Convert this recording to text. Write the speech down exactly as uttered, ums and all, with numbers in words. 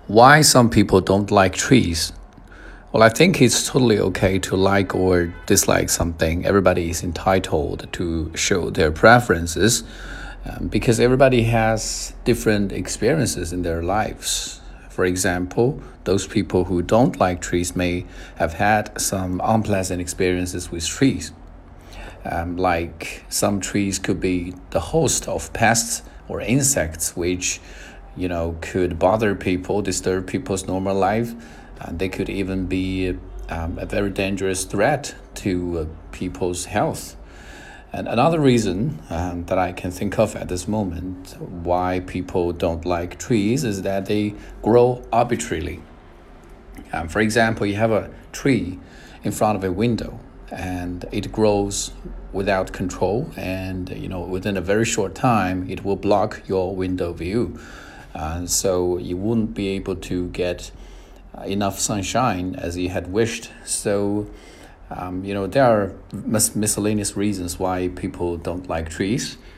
Why some people don't like trees? Well, I think it's totally okay to like or dislike something. Everybody is entitled to show their preferences um, because everybody has different experiences in their lives. For example, those people who don't like trees may have had some unpleasant experiences with trees. Um, like some trees could be the host of pests or insects, which you know could bother people, disturb people's normal life. And they could even be um, a very dangerous threat to uh, people's health. And another reason um, that I can think of at this moment why people don't like trees is that they grow arbitrarily. Um, for example, you have a tree in front of a window and it grows without control, and you know within a very short time it will block your window view, and so you wouldn't be able to get enough sunshine as you had wished. So um, you know there are mis- miscellaneous reasons why people don't like trees.